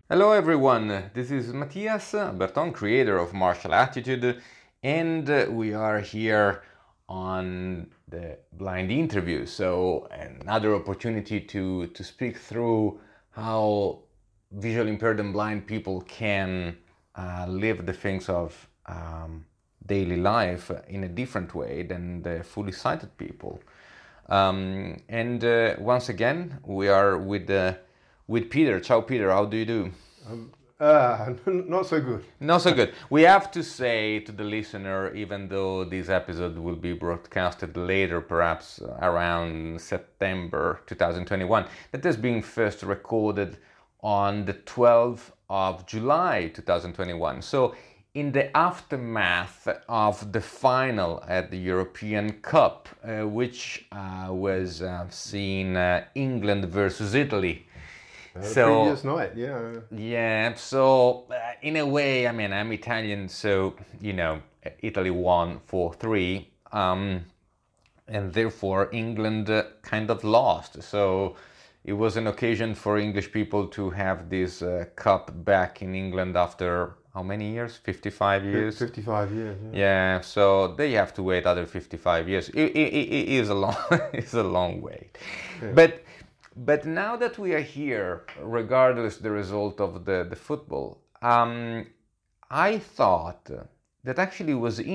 Hello everyone, this is Matthias Berton, creator of Martial Attitude, and we are here on the blind interview. So another opportunity to speak through how visually impaired and blind people can live the things of daily life in a different way than the fully sighted people. And once again, we are with Peter. Ciao, Peter. How do you do? Not so good. Not so good. We have to say to the listener, even though this episode will be broadcasted later, perhaps around September 2021, that has been first recorded on the 12th of July 2021. So in the aftermath of the final at the European Cup, which was seen England versus Italy. Previous night, yeah. Yeah, so in a way, I mean, I'm Italian, so, Italy won 4-3, and therefore England kind of lost. So it was an occasion for English people to have this cup back in England after how many years? 55 years? 55 years, yeah. Yeah, so they have to wait other 55 years. It is a long, it's a long wait. Yeah. But now that we are here, regardless the result of the football, I thought that actually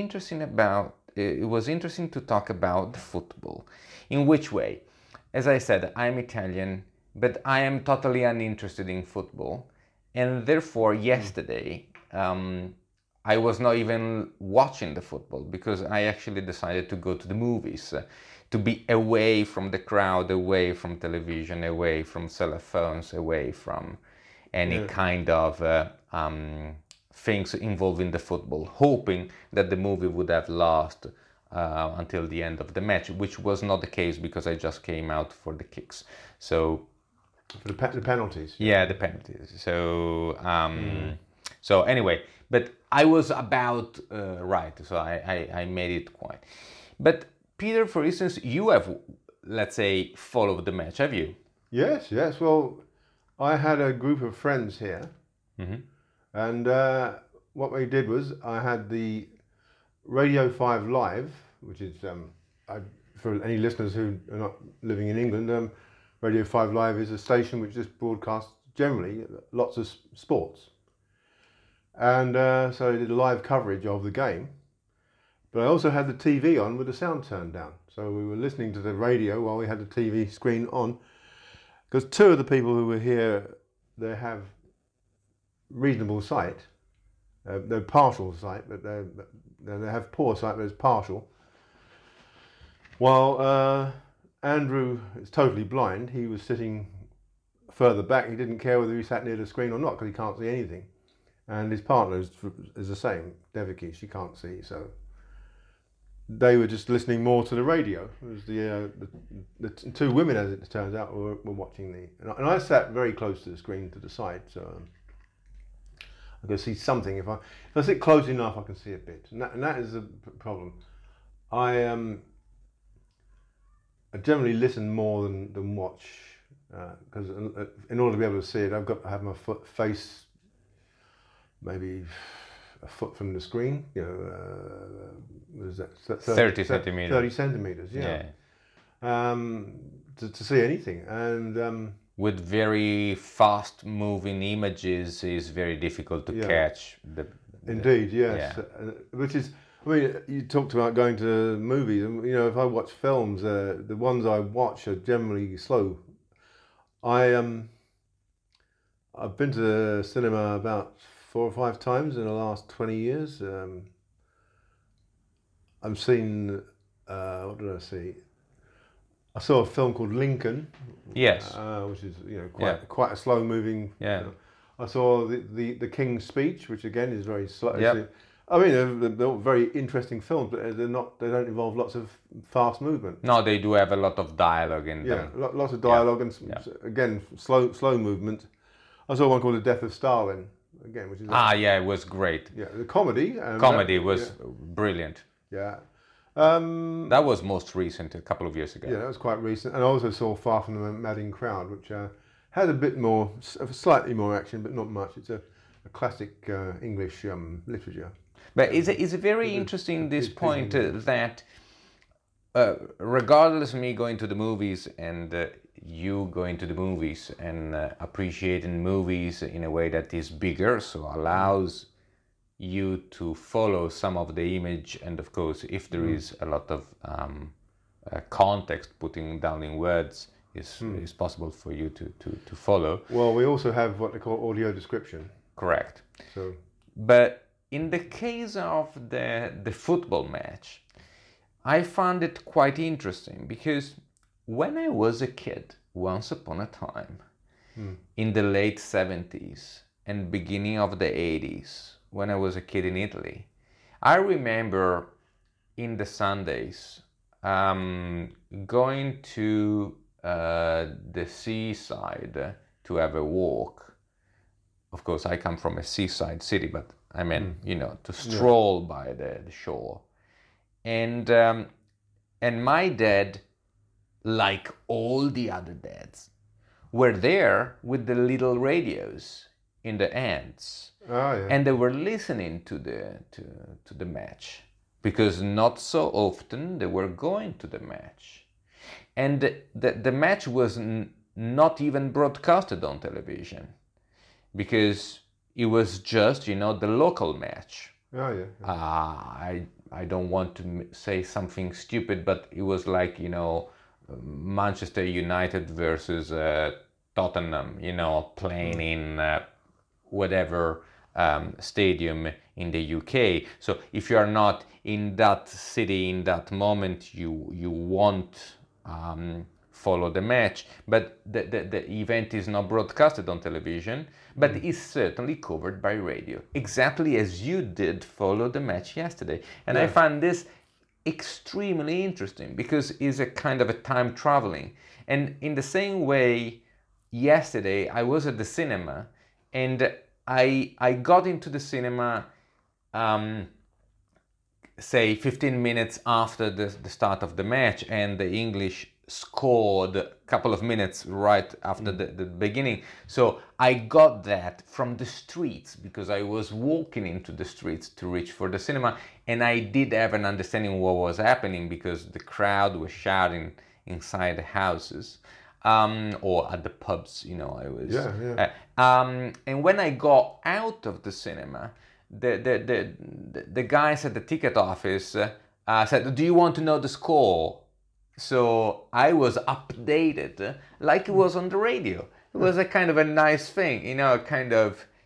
it was interesting to talk about the football. In which way? As I said, I'm Italian, but I am totally uninterested in football. And therefore, yesterday, I was not even watching the football because I actually decided to go to the movies. To be away from the crowd, away from television, away from cell phones, away from any kind of things involving the football, hoping that the movie would have lasted until the end of the match, which was not the case because I just came out for the kicks. So for the penalties. Yeah, the penalties. So anyway, but I was about right, so I made it quite. But Peter, for instance, you have, let's say, followed the match, have you? Yes. Well, I had a group of friends here, and what we did was I had the Radio 5 Live, which is, for any listeners who are not living in England, Radio 5 Live is a station which just broadcasts generally lots of sports. And so I did a live coverage of the game. But I also had the TV on with the sound turned down. So we were listening to the radio while we had the TV screen on. Because two of the people who were here, they have reasonable sight. They're partial sight, but they have poor sight, but it's partial. While Andrew is totally blind, he was sitting further back. He didn't care whether he sat near the screen or not because he can't see anything. And his partner is the same, Devaki, she can't see, so they were just listening more to the radio. It was the two women, as it turns out, were watching and I sat very close to the screen to the side, so I could see something. If I sit close enough, I can see a bit, and that is the problem. I generally listen more than watch, because in order to be able to see it, I've got to have my face maybe a foot from the screen, what is that? 30 centimeters. 30 centimeters, yeah. To see anything. And with very fast moving images is very difficult to catch. Indeed, yes. Yeah. Which is, I mean, you talked about going to movies, and if I watch films, the ones I watch are generally slow. I've been to the cinema about 4 or 5 times in the last 20 years. I've seen, what did I see? I saw a film called Lincoln. Yes. Which is quite a slow moving. Yeah. I saw the King's Speech, which again is very slow. Yep. I mean, they're very interesting films, but they don't involve lots of fast movement. No, they do have a lot of dialogue in them. Yeah, lots of dialogue and again slow movement. I saw one called The Death of Stalin. Again, which is it was great. Yeah, the comedy. Comedy was brilliant. Yeah. That was most recent, a couple of years ago. Yeah, that was quite recent. And I also saw Far From the Madding Crowd, which Has a bit more, slightly more action, but not much. It's a classic English literature. But it's very interesting this point that regardless of me going to the movies and you going to the movies and appreciating movies in a way that is bigger, so allows you to follow some of the image, and of course if there is a lot of context putting down in words is possible for you to follow. Well, we also have what they call audio description. Correct. So, but in the case of the football match, I found it quite interesting because when I was a kid, once upon a time, in the late 70s and beginning of the 80s, when I was a kid in Italy, I remember in the Sundays going to the seaside to have a walk. Of course, I come from a seaside city, but I mean, to stroll by the shore. And my dad, like all the other dads, were there with the little radios in the hands. Oh, yeah. And they were listening to the match, because not so often they were going to the match. And the match was not even broadcasted on television, because it was just, the local match. Oh, yeah. I don't want to say something stupid, but it was like, Manchester United versus Tottenham, playing in whatever stadium in the UK. So if you are not in that city in that moment, you won't follow the match. But the event is not broadcasted on television, but is certainly covered by radio, exactly as you did follow the match yesterday. And I found this extremely interesting because it's a kind of a time traveling. And in the same way, yesterday I was at the cinema, and I got into the cinema say 15 minutes after the start of the match, and the English scored a couple of minutes right after the beginning. So I got that from the streets, because I was walking into the streets to reach for the cinema, and I did have an understanding what was happening, because the crowd was shouting inside the houses or at the pubs, I was and when I got out of the cinema, the guys at the ticket office said, "Do you want to know the score?" So I was updated like it was on the radio. It was a kind of a nice thing, I kind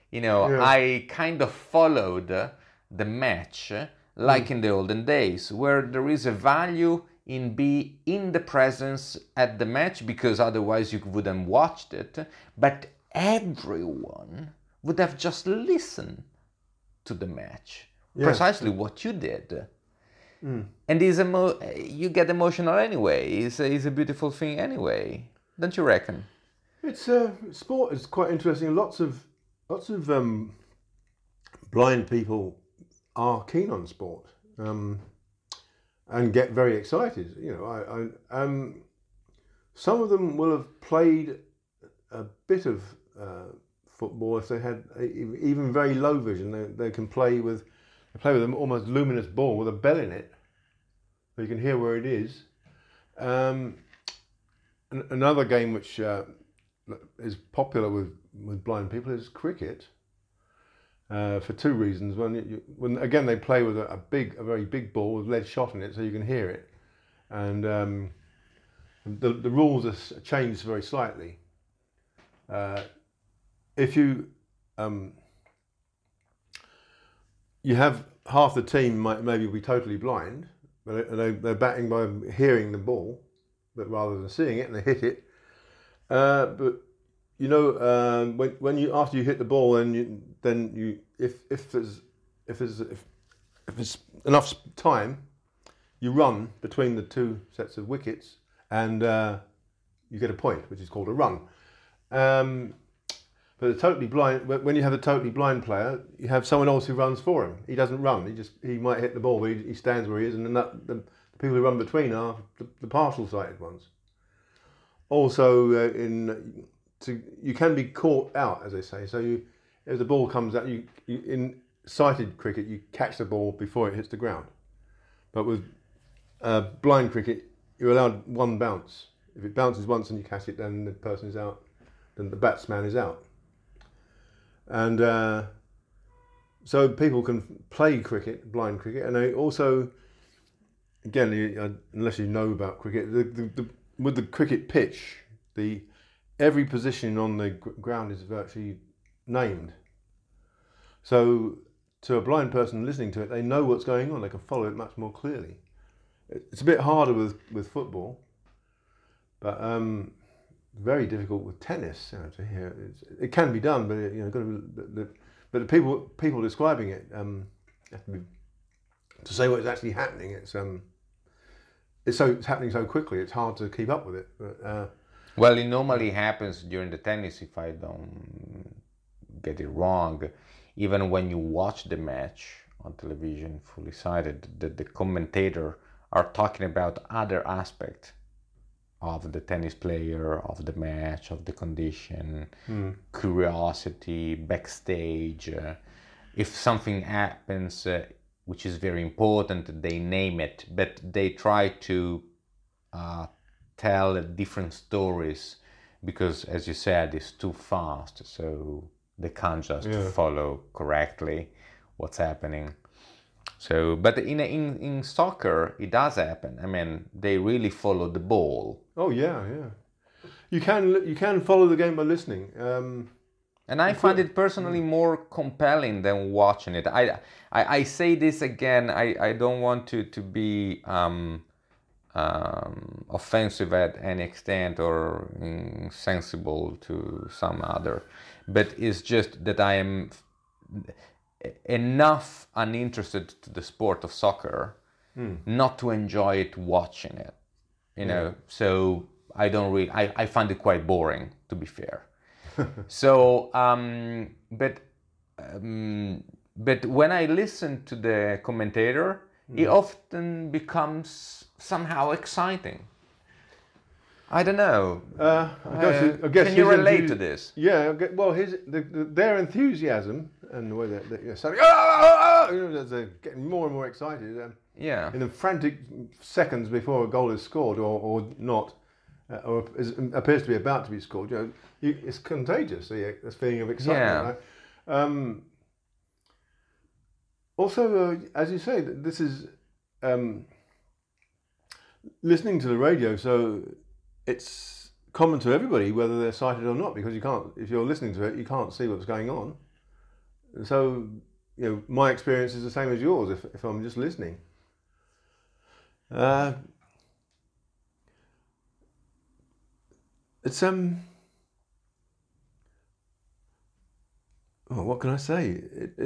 of followed the match like in the olden days, where there is a value in be in the presence at the match, because otherwise you wouldn't watched it, but everyone would have just listened to the match, precisely what you did. And you get emotional anyway. It's a beautiful thing anyway, don't you reckon? It's sport is quite interesting. Lots of blind people are keen on sport and get very excited. Some of them will have played a bit of football if they had even very low vision. They can play with an almost luminous ball with a bell in it, so you can hear where it is. Another game which is popular with blind people is cricket, for two reasons. When again they play with a very big ball with lead shot in it, so you can hear it, and the rules are changed very slightly. If you have half the team might maybe be totally blind, but they're batting by hearing the ball, but rather than seeing it, and they hit it. But when you after you hit the ball, then you if there's enough time, you run between the two sets of wickets, and you get a point, which is called a run. But the totally blind, when you have a totally blind player, you have someone else who runs for him. He doesn't run. He might hit the ball, but he stands where he is, and then the people who run between are the partial sighted ones. Also, in you can be caught out, as they say. So if the ball comes out, you in sighted cricket you catch the ball before it hits the ground, but with blind cricket you're allowed one bounce. If it bounces once and you catch it, then the person is out. Then the batsman is out. And so people can play cricket, blind cricket, and they also, again, unless you know about cricket, with the cricket pitch, every position on the ground is virtually named. So to a blind person listening to it, they know what's going on. They can follow it much more clearly. It's a bit harder with football, but very difficult with tennis. To hear it can be done, but but the people describing it have to say what's actually happening. It's happening so quickly. It's hard to keep up with it. But, well, it normally happens during the tennis, if I don't get it wrong. Even when you watch the match on television, fully sighted, the commentator are talking about other aspects of the tennis player, of the match, of the condition, curiosity, backstage. If something happens, which is very important, they name it, but they try to tell different stories because, as you said, it's too fast, so they can't just follow correctly what's happening. So, but in soccer, it does happen. I mean, they really follow the ball. Oh yeah. You can follow the game by listening. And I find it personally more compelling than watching it. I say this again. I don't want to be offensive at any extent or insensible to some other, but it's just that I am enough uninterested to the sport of soccer not to enjoy it watching it, so I don't really I find it quite boring, to be fair. So but when I listen to the commentator, it often becomes somehow exciting. I don't know. I guess can you relate to this? Yeah. Well, their enthusiasm and the way they're saying, they're getting more and more excited. In the frantic seconds before a goal is scored or not, or appears to be about to be scored, it's contagious. This feeling of excitement. Yeah. Right? Also, as you say, this is listening to the radio, so it's common to everybody whether they're sighted or not, because you can't, if you're listening to it, you can't see what's going on. So, my experience is the same as yours if I'm just listening. It's what can I say?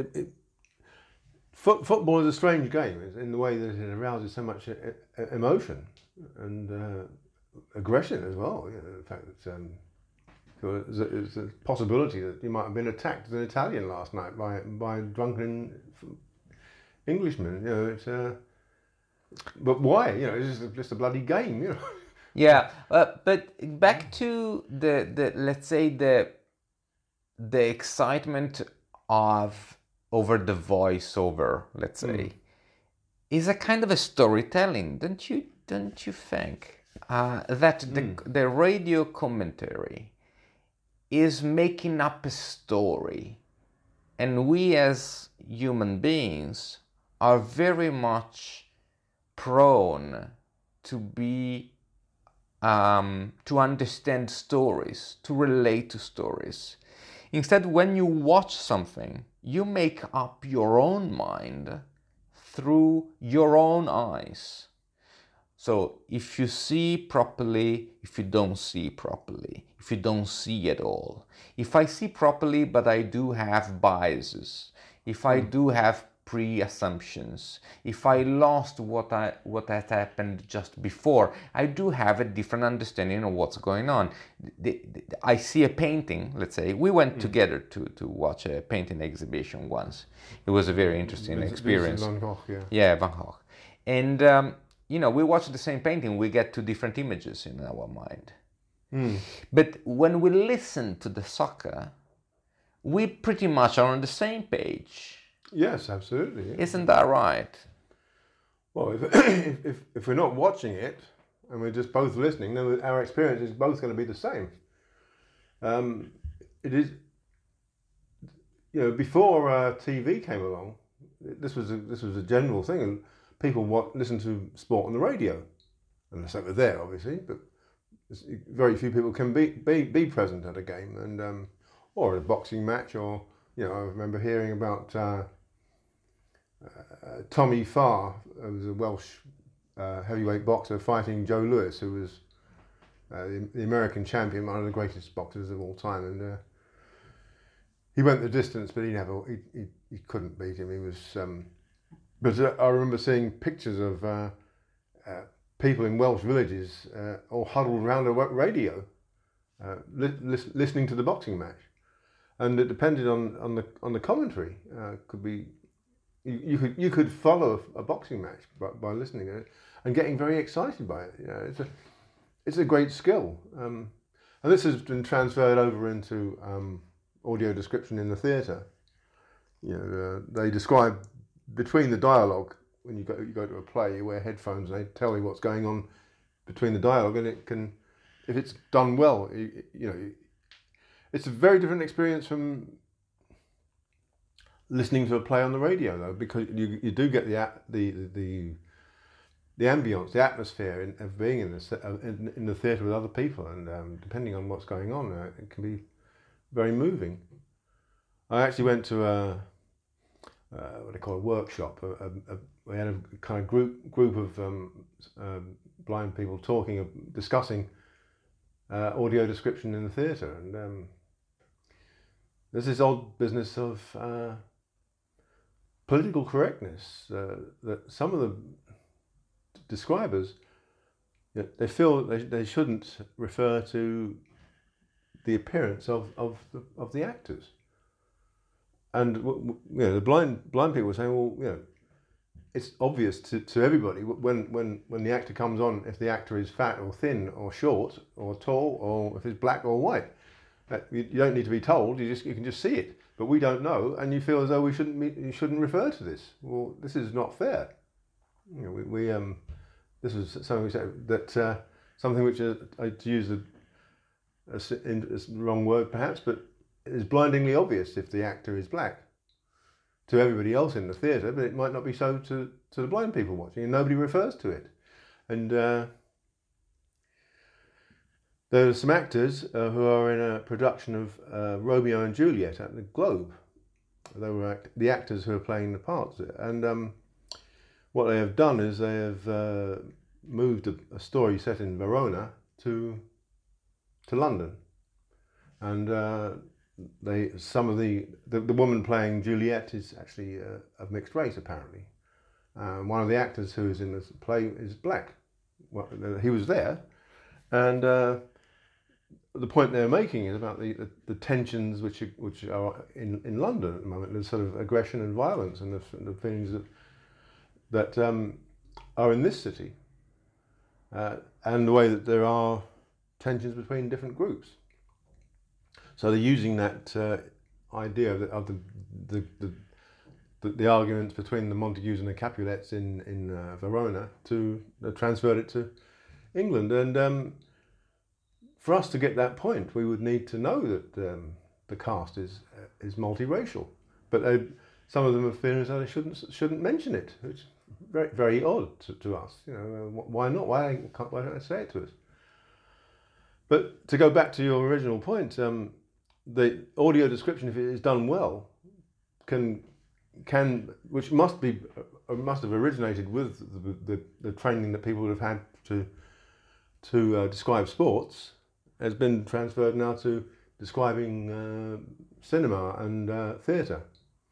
Football is a strange game in the way that it arouses so much emotion and aggression as well. The fact that there's a possibility that you might have been attacked as an Italian last night by drunken Englishmen. But why? It's just a bloody game. Yeah, but back to the let's say the excitement of over the voiceover, let's say, is a kind of a storytelling, don't you think? That the radio commentary is making up a story, and we as human beings are very much prone to be to understand stories, to relate to stories. Instead, when you watch something, you make up your own mind through your own eyes. So if you see properly, if you don't see properly, if you don't see at all. If I see properly, but I do have biases, if I do have pre-assumptions, if I lost what had happened just before, I do have a different understanding of what's going on. I see a painting, let's say. We went together to watch a painting exhibition once. It was a very interesting experience. Van Gogh, yeah, Van Gogh. And, we watch the same painting, we get two different images in our mind. But when we listen to the soccer, we pretty much are on the same page. Yes, absolutely. Yeah. Isn't that right? Well, if we're not watching it and we're just both listening, then our experience is both going to be the same. It is, before TV came along, this was a general thing, and people listen to sport on the radio, unless they were there, obviously. But very few people can be present at a game, and or a boxing match, or I remember hearing about Tommy Farr, who was a Welsh heavyweight boxer, fighting Joe Louis, who was the American champion, one of the greatest boxers of all time, and he went the distance, but he couldn't beat him. He was, but I remember seeing pictures of people in Welsh villages all huddled around a radio, listening to the boxing match, and it depended on the commentary. Could be you could follow a boxing match by listening to it and getting very excited by it. It's a great skill, and this has been transferred over into audio description in the theatre. They describe between the dialogue. When you go to a play, you wear headphones and they tell you what's going on between the dialogue, and it can, if it's done well, it's a very different experience from listening to a play on the radio, though, because you do get the ambience, the atmosphere of being in the theatre with other people, and depending on what's going on, it can be very moving. I actually went to what they call a workshop. We had a kind of group of blind people discussing audio description in the theatre, and there's this old business of political correctness that some of the describers, they feel they shouldn't refer to the appearance of the actors. And the blind people were saying, well, it's obvious to everybody when the actor comes on, if the actor is fat or thin or short or tall, or if it's black or white. You don't need to be told. You can just see it. But we don't know, and you feel as though you shouldn't refer to this. Well, this is not fair. This was something we said that something which to use a wrong word perhaps, but it is blindingly obvious if the actor is black to everybody else in the theatre, but it might not be so to the blind people watching, and nobody refers to it. And there are some actors who are in a production of Romeo and Juliet at the Globe. They were the actors who are playing the parts, and what they have done is they have moved a story set in Verona to London, and the woman playing Juliet is actually of mixed race, apparently. One of the actors who is in this play is black. Well, he was there, and the point they're making is about the tensions which are in London at the moment. There's sort of aggression and violence, and the feelings that are in this city, and the way that there are tensions between different groups. So they're using that idea of the arguments between the Montagues and the Capulets in Verona to transfer it to England. And for us to get that point, we would need to know that the cast is multiracial. But some of them have feeling as though they shouldn't mention it, which is very, very odd to us. Why not? Why don't they say it to us? But to go back to your original point, the audio description, if it is done well, which must have originated with the training that people would have had to describe sports, has been transferred now to describing cinema and theatre.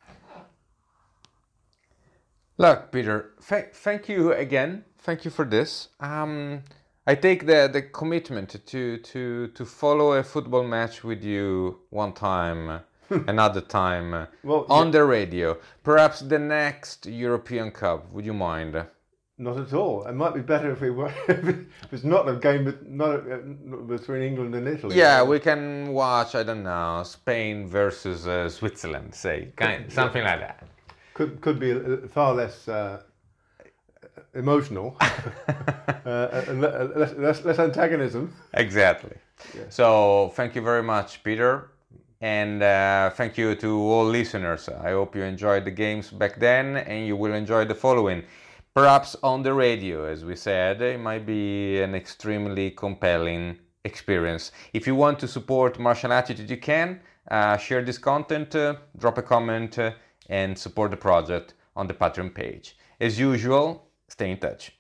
Look, Peter, thank you again. Thank you for this. I take the commitment to follow a football match with you one time, another time, on the radio. Perhaps the next European Cup. Would you mind? Not at all. It might be better if we were. If it's not a game between England and Italy. Yeah, we can watch, I don't know, Spain versus Switzerland, say, something like that. Could be far less emotional, and less antagonism. Exactly. Yeah. So thank you very much, Peter, and thank you to all listeners. I hope you enjoyed the games back then, and you will enjoy the following. Perhaps on the radio, as we said, it might be an extremely compelling experience. If you want to support Martial Attitude, you can share this content, drop a comment, and support the project on the Patreon page. As usual, stay in touch.